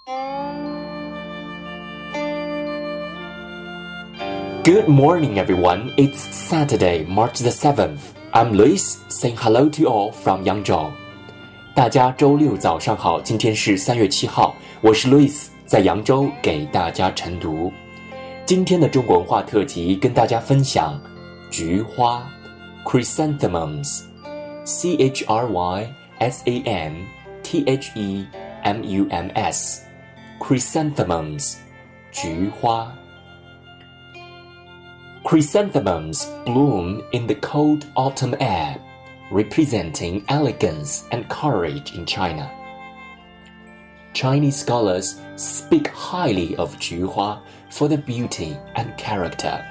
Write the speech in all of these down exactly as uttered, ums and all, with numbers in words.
Good morning, everyone. It's Saturday, March the seventh. I'm Luis, saying hello to you all from Yangzhou. 大家周六早上好，今天是三月七号，我是 Luis， 在扬州给大家晨读。今天的中国文化特辑跟大家分享菊花 Chrysanthemums C H R Y S A N T H E M U M S Chrysanthemums 菊花 Chrysanthemums bloom in the cold autumn air, representing elegance and courage in China. Chinese scholars speak highly of 菊花 for their beauty and character.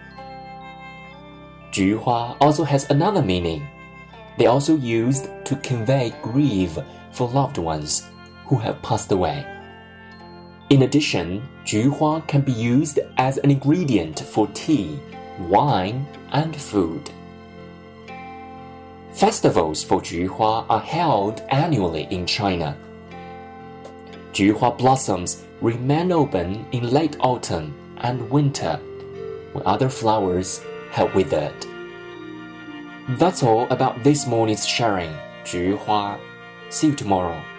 菊花 also has another meaning. They also used to convey grief for loved ones who have passed away. In addition, 菊花 can be used as an ingredient for tea, wine, and food. Festivals for 菊花 are held annually in China. 菊花 blossoms remain open in late autumn and winter, when other flowers have withered. That's all about this morning's sharing. 菊花. See you tomorrow.